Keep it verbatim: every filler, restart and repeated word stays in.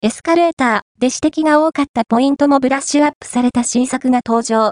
エスカレーターで指摘が多かったポイントもブラッシュアップされた新作が登場。